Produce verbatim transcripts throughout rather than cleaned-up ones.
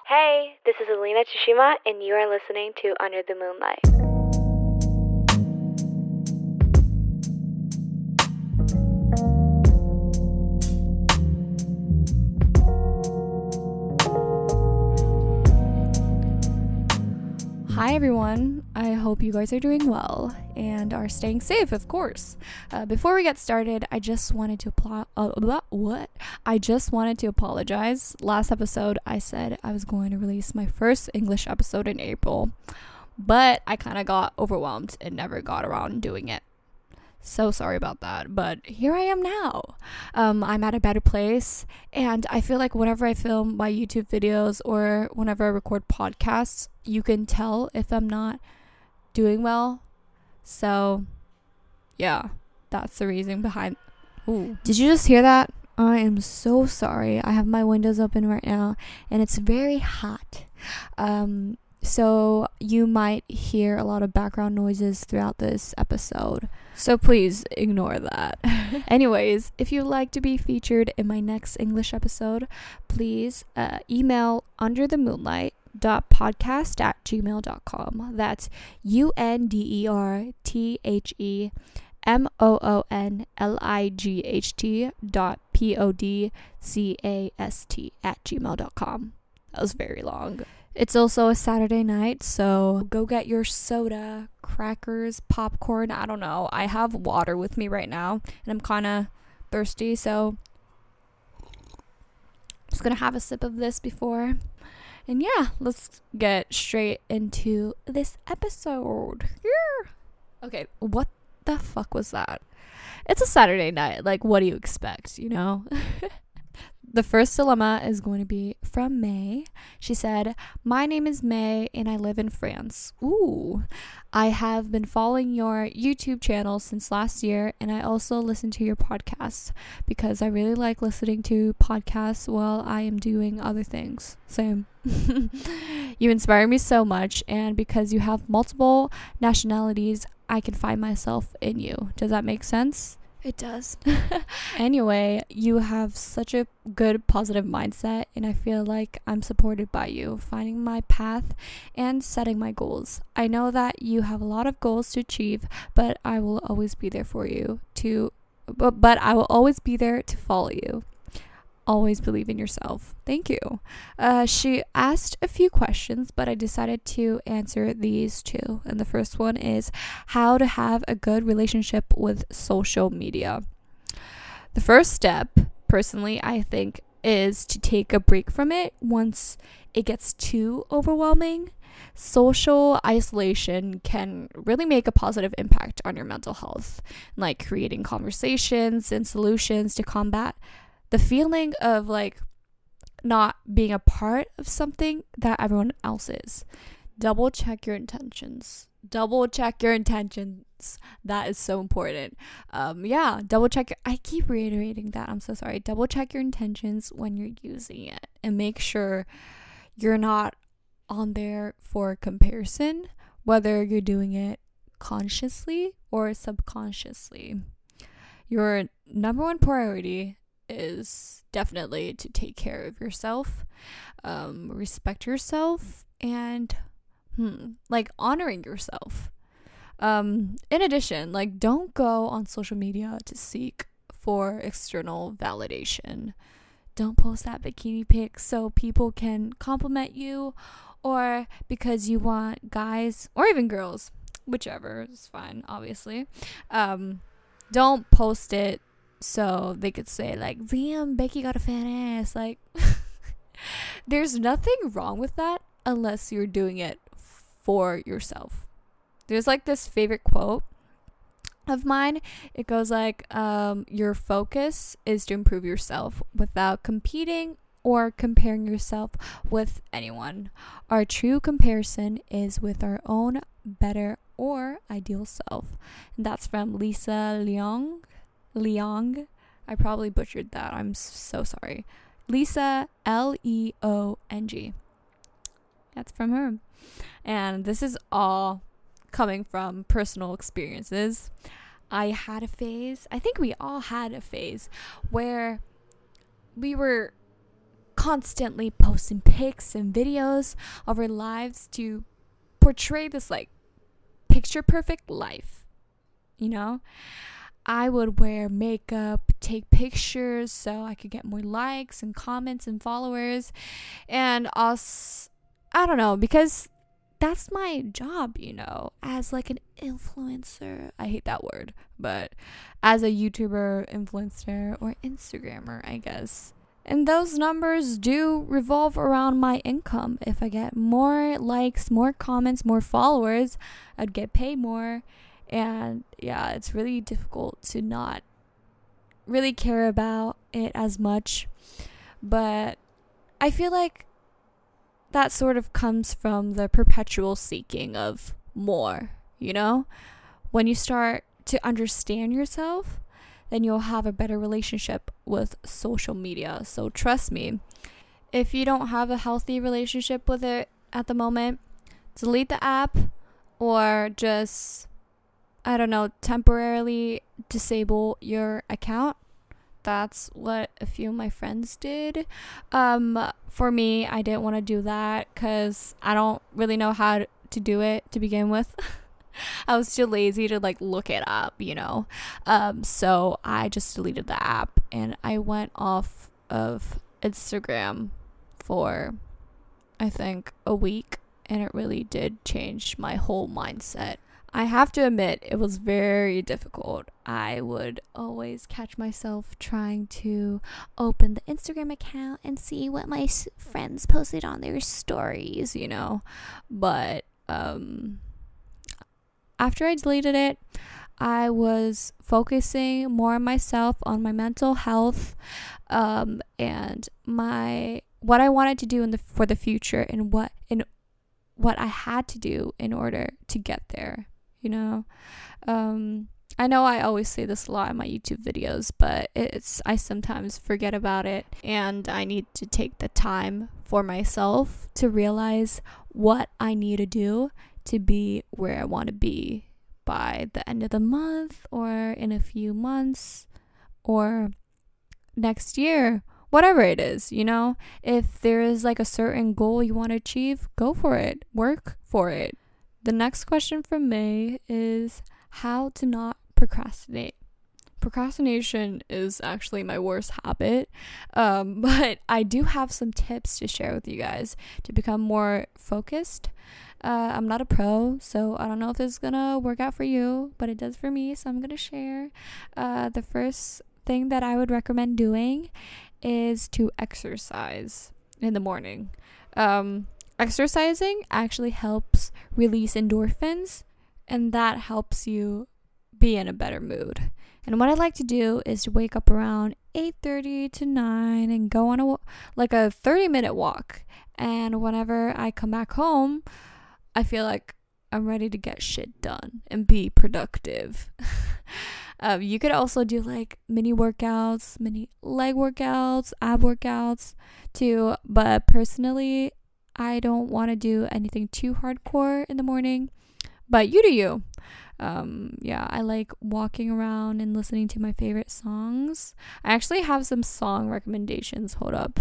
Hey, this is Alina Tsushima, and you are listening to Under the Moonlight. Hi everyone, I hope you guys are doing well and are staying safe, of course. Uh, before we get started, I just wanted to apply. Uh, what? I just wanted to apologize. Last episode, I said I was going to release my first English episode in April, but I kind of got overwhelmed and never got around doing it. So sorry about that, but here I am now. Um, I'm at a better place, and I feel like whenever I film my YouTube videos or whenever I record podcasts, you can tell if I'm not doing well. So, yeah, that's the reason behind. Ooh. Did you just hear that? I am so sorry. I have my windows open right now, and it's very hot. Um, so you might hear a lot of background noises throughout this episode. So please ignore that. Anyways, if you'd like to be featured in my next English episode, please uh, email underthemoonlight.podcast at gmail dot com. That's U N D E R T H E M O O N L I G H T dot P O D C A S T at gmail dot com. That was very long. It's also a Saturday night, so go get your soda, crackers, popcorn. I don't know. I have water with me right now, and I'm kind of thirsty, so I'm just going to have a sip of this before. And yeah, let's get straight into this episode. Yeah. Okay, what the fuck was that? It's a Saturday night. Like, what do you expect, you know? The first dilemma is going to be from May. She said, "My name is May and I live in France. Ooh. I have been following your YouTube channel since last year, and I also listen to your podcasts because I really like listening to podcasts while I am doing other things. Same. You inspire me so much, and because you have multiple nationalities, I can find myself in you." Does that make sense? It does. Anyway, you have such a good positive mindset, and I feel like I'm supported by you, finding my path and setting my goals. I know that you have a lot of goals to achieve, but I will always be there for you to but, but I will always be there to follow you. Always believe in yourself. Thank you. Uh, she asked a few questions, but I decided to answer these two. And the first one is how to have a good relationship with social media. The first step, personally, I think, is to take a break from it once it gets too overwhelming. Social isolation can really make a positive impact on your mental health, like creating conversations and solutions to combat the feeling of like not being a part of something that everyone else is. Double check your intentions. Double check your intentions. That is so important. Um, yeah, double check. Your, I keep reiterating that. I'm so sorry. Double check your intentions when you're using it, and make sure you're not on there for comparison, whether you're doing it consciously or subconsciously. Your number one priority is definitely to take care of yourself, um, respect yourself, and hmm, like honoring yourself. Um, in addition, like don't go on social media to seek for external validation. Don't post that bikini pic so people can compliment you, or because you want guys or even girls, whichever is fine, obviously. Um, don't post it so they could say like, "Damn, Becky got a fat ass." Like, there's nothing wrong with that unless you're doing it for yourself. There's like this favorite quote of mine. It goes like, um, your focus is to improve yourself without competing or comparing yourself with anyone. Our true comparison is with our own better or ideal self. And that's from Lisa Leong. Leong. I probably butchered that. I'm so sorry. Lisa, L E O N G. That's from her. And this is all coming from personal experiences. I had a phase, I think we all had a phase, where we were constantly posting pics and videos of our lives to portray this like picture perfect life, you know. I would wear makeup, take pictures so I could get more likes and comments and followers, and also, I don't know, because that's my job, you know, as like an influencer. I hate that word, but as a YouTuber, influencer, or Instagrammer, I guess. And those numbers do revolve around my income. If I get more likes, more comments, more followers, I'd get paid more. And yeah, it's really difficult to not really care about it as much. But I feel like that sort of comes from the perpetual seeking of more, you know? When you start to understand yourself, then you'll have a better relationship with social media. So trust me, if you don't have a healthy relationship with it at the moment, delete the app or just, I don't know, temporarily disable your account. That's what a few of my friends did. Um, for me, I didn't want to do that because I don't really know how to do it to begin with. I was too lazy to like look it up, you know. Um, so I just deleted the app and I went off of Instagram for, I think, a week, and it really did change my whole mindset. I have to admit, it was very difficult. I would always catch myself trying to open the Instagram account and see what my s- friends posted on their stories, you know. But um, after I deleted it, I was focusing more on myself, on my mental health, um, and my what I wanted to do in the for the future, and what in what I had to do in order to get there. You know, um, I know I always say this a lot in my YouTube videos, but it's I sometimes forget about it, and I need to take the time for myself to realize what I need to do to be where I want to be by the end of the month, or in a few months, or next year, whatever it is, you know. If there is like a certain goal you want to achieve, go for it, work for it. The next question from May is how to not procrastinate. Procrastination is actually my worst habit, um, but I do have some tips to share with you guys to become more focused. Uh, I'm not a pro, so I don't know if this is gonna work out for you, but it does for me, so I'm gonna share. Uh, the first thing that I would recommend doing is to exercise in the morning. Um, exercising actually helps release endorphins, and that helps you be in a better mood. And what I like to do is to wake up around eight thirty to nine and go on a like a thirty minute walk. And whenever I come back home, I feel like I'm ready to get shit done and be productive. um, you could also do like mini workouts, mini leg workouts, ab workouts too. But personally, I don't want to do anything too hardcore in the morning. But you do you. Um, yeah, I like walking around and listening to my favorite songs. I actually have some song recommendations. Hold up.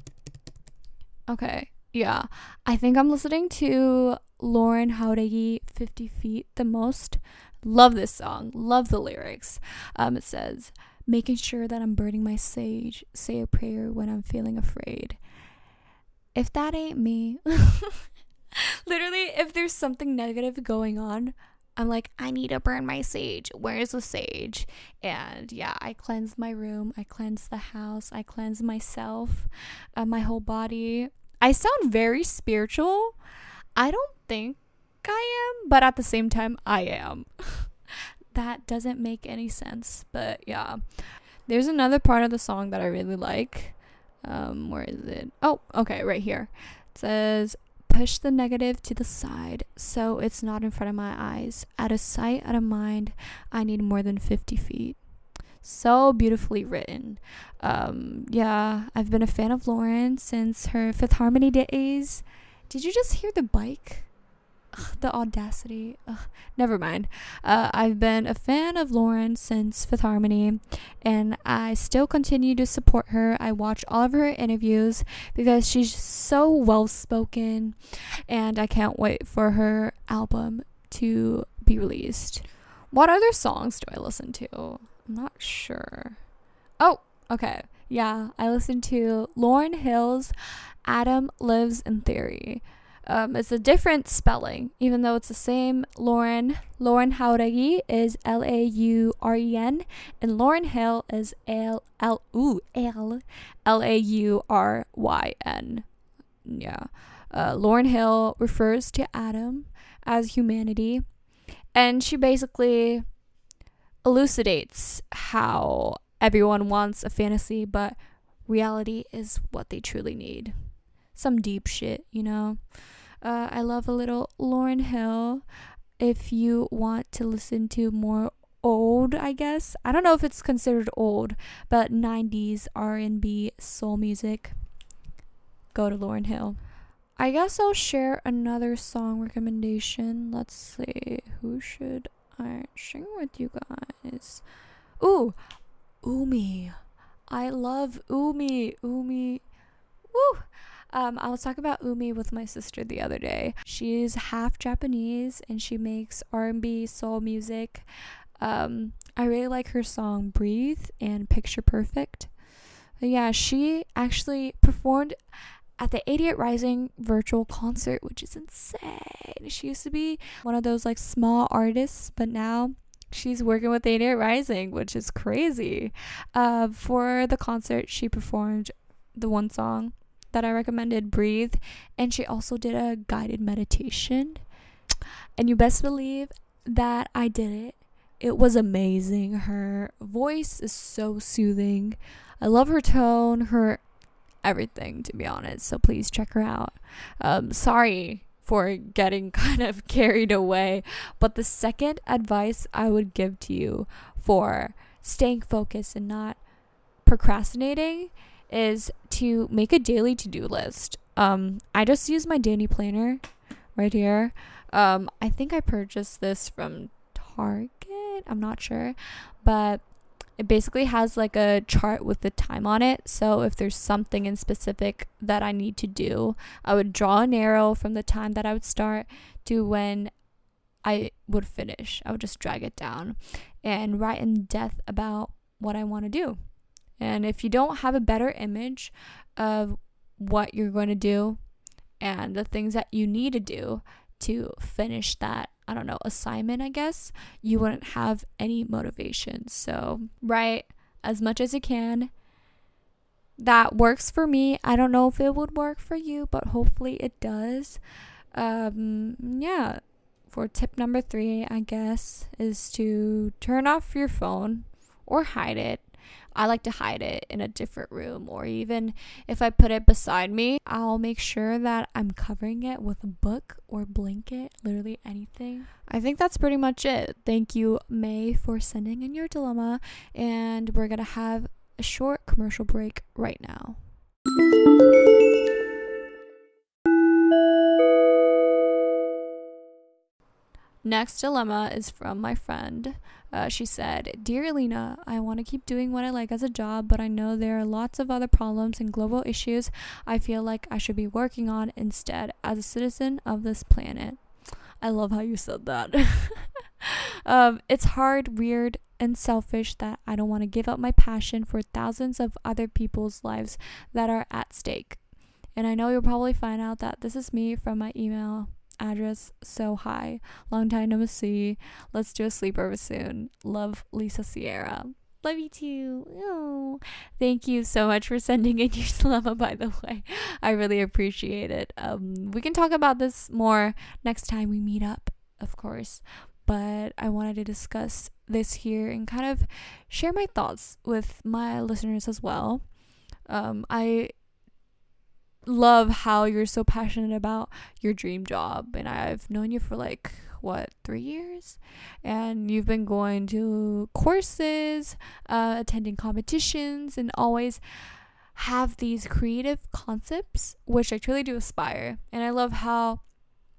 Okay, yeah. I think I'm listening to Lauren Jauregui, fifty feet the most. Love this song. Love the lyrics. Um, it says, making sure that I'm burning my sage, say a prayer when I'm feeling afraid. If that ain't me, literally, if there's something negative going on, I'm like, I need to burn my sage. Where's the sage? And yeah, I cleanse my room. I cleanse the house. I cleanse myself, uh, my whole body. I sound very spiritual. I don't think I am, but at the same time, I am. That doesn't make any sense, but yeah. There's another part of the song that I really like. Um, where is it? Oh, okay, right here. It says, push the negative to the side so it's not in front of my eyes. Out of sight, out of mind, I need more than fifty feet. So beautifully written. Um, yeah, I've been a fan of Lauren since her Fifth Harmony days. Did you just hear the bike? ugh, the audacity. Ugh, never mind. Uh, I've been a fan of Lauren since Fifth Harmony, and I still continue to support her. I watch all of her interviews because she's so well spoken, and I can't wait for her album to be released. What other songs do I listen to? I'm not sure. Oh, okay. Yeah, I listen to Lauryn Hill's Adam Lives in Theory. Um, it's a different spelling, even though it's the same. Lauren, Lauren Jauregui is L A U R E N, and Lauryn Hill is L L ooh, L L A U R Y N. Yeah. Uh, Lauryn Hill refers to Adam as humanity, and she basically elucidates how everyone wants a fantasy, but reality is what they truly need. Some deep shit, you know. Uh, I love a little Lauryn Hill. If you want to listen to more old, I guess. I don't know if it's considered old, but nineties R and B soul music, go to Lauryn Hill. I guess I'll share another song recommendation. Let's see. Who should I share with you guys? Ooh, Umi. I love Umi. Umi. Woo! Um, I was talking about Umi with my sister the other day. She's half Japanese and she makes R and B soul music. Um, I really like her song Breathe and Picture Perfect. But yeah, she actually performed at the eighty-eight Rising virtual concert, which is insane. She used to be one of those like small artists, but now she's working with eighty-eight Rising, which is crazy. Uh, for the concert, she performed the one song that I recommended, Breathe, and she also did a guided meditation. And you best believe that I did it. It was amazing. Her voice is so soothing. I love her tone, her everything, to be honest. So please check her out. Um, sorry for getting kind of carried away, but the second advice I would give to you for staying focused and not procrastinating is to make a daily to-do list. Um, I just use my daily planner right here. Um, I think I purchased this from Target. I'm not sure, but it basically has like a chart with the time on it. So if there's something in specific that I need to do, I would draw an arrow from the time that I would start to when I would finish. I would just drag it down and write in depth about what I want to do. And if you don't have a better image of what you're going to do and the things that you need to do to finish that, I don't know, assignment, I guess, you wouldn't have any motivation. So write as much as you can. That works for me. I don't know if it would work for you, but hopefully it does. Um, yeah. For tip number three, I guess, is to turn off your phone or hide it. I like to hide it in a different room, or even if I put it beside me, I'll make sure that I'm covering it with a book or blanket, literally anything. I think that's pretty much it. Thank you, May, for sending in your dilemma, and we're gonna have a short commercial break right now. Next dilemma is from my friend. Uh, she said, "Dear Alina, I want to keep doing what I like as a job, but I know there are lots of other problems and global issues I feel like I should be working on instead as a citizen of this planet." I love how you said that. um, it's hard, weird, and selfish that I don't want to give up my passion for thousands of other people's lives that are at stake. And I know you'll probably find out that this is me from my email address. So hi, long time no see. Let's do a sleepover soon. Love, Lisa Sierra. Love you too. Oh, thank you so much for sending in your dilemma, by the way. I really appreciate it. Um, we can talk about this more next time we meet up, of course. But I wanted to discuss this here and kind of share my thoughts with my listeners as well. Um, I love how you're so passionate about your dream job, and I've known you for like what three years, and you've been going to courses, uh, attending competitions, and always have these creative concepts, which I truly do aspire. And I love how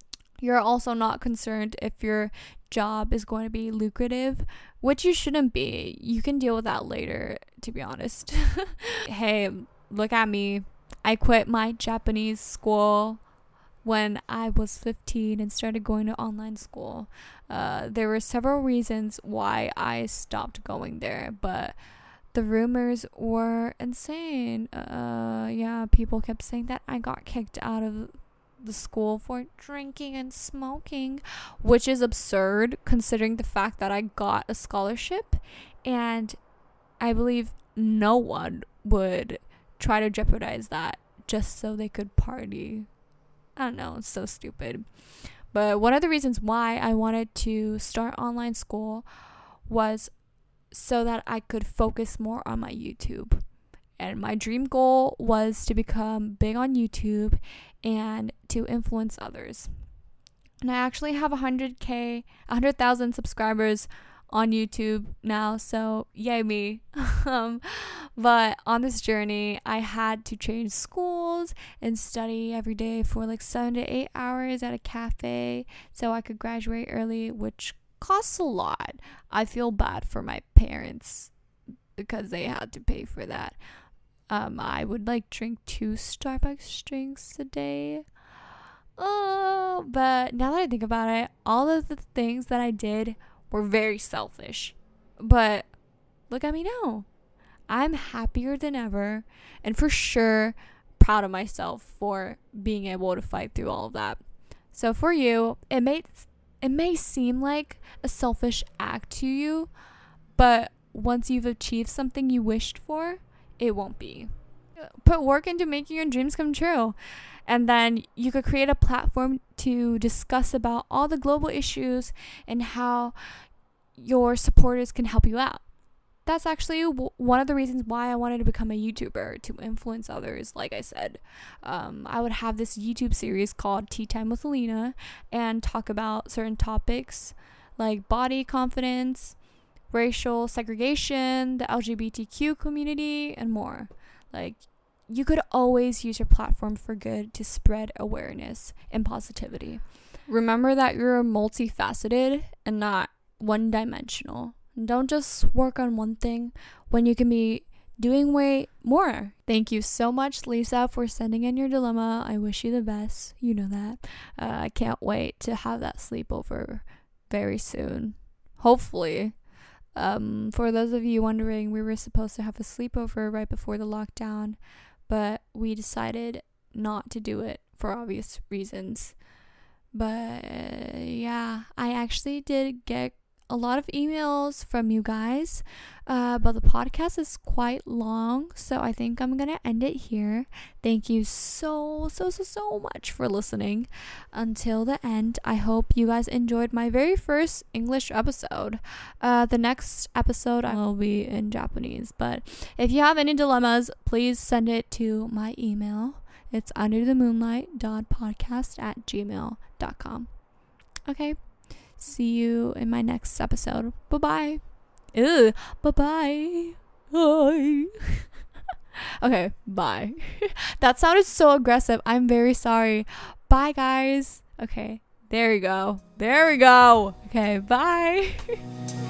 You're also not concerned if your job is going to be lucrative, which you shouldn't be. You can deal with that later, to be honest. Hey, look at me. I quit my Japanese school when I was fifteen and started going to online school. Uh, there were several reasons why I stopped going there, but the rumors were insane. Uh, yeah, people kept saying that I got kicked out of the school for drinking and smoking, which is absurd considering the fact that I got a scholarship, and I believe no one would try to jeopardize that just so they could party. I don't know, it's so stupid. But one of the reasons why I wanted to start online school was so that I could focus more on my YouTube. And my dream goal was to become big on YouTube and to influence others. And I actually have one hundred K, one hundred thousand subscribers on YouTube now, so yay me. um, but on this journey, I had to change schools and study every day for like seven to eight hours at a cafe so I could graduate early, which costs a lot. I feel bad for my parents because they had to pay for that. Um, I would like drink two Starbucks drinks a day. Oh, but now that I think about it, all of the things that I did were very selfish. But look at me now. I'm happier than ever, and for sure proud of myself for being able to fight through all of that. So for you, it may it may seem like a selfish act to you, but once you've achieved something you wished for, it won't be. Put work into making your dreams come true. And then you could create a platform to discuss about all the global issues and how your supporters can help you out. That's actually w- one of the reasons why I wanted to become a YouTuber, to influence others. Like I said, um, I would have this YouTube series called Tea Time with Alina and talk about certain topics like body confidence, racial segregation, the L G B T Q community, and more. Like, you could always use your platform for good to spread awareness and positivity. Remember that you're multifaceted and not one-dimensional. Don't just work on one thing when you can be doing way more. Thank you so much, Lisa, for sending in your dilemma. I wish you the best. You know that. Uh, I can't wait to have that sleepover very soon. Hopefully. Um, for those of you wondering, we were supposed to have a sleepover right before the lockdown, but we decided not to do it for obvious reasons. But uh, yeah, I actually did get a lot of emails from you guys, uh, but the podcast is quite long, so I think I'm gonna end it here. Thank you so so so so much for listening until the end. I hope you guys enjoyed my very first English episode. Uh, the next episode I will be in Japanese, but if you have any dilemmas, please send it to my email. It's underthemoonlight.podcast at gmail dot com. Okay. See you in my next episode. Bye-bye. Ew. Bye-bye. Bye. Okay, bye. That sounded so aggressive. I'm very sorry. Bye, guys. Okay, there we go. There we go. Okay, bye.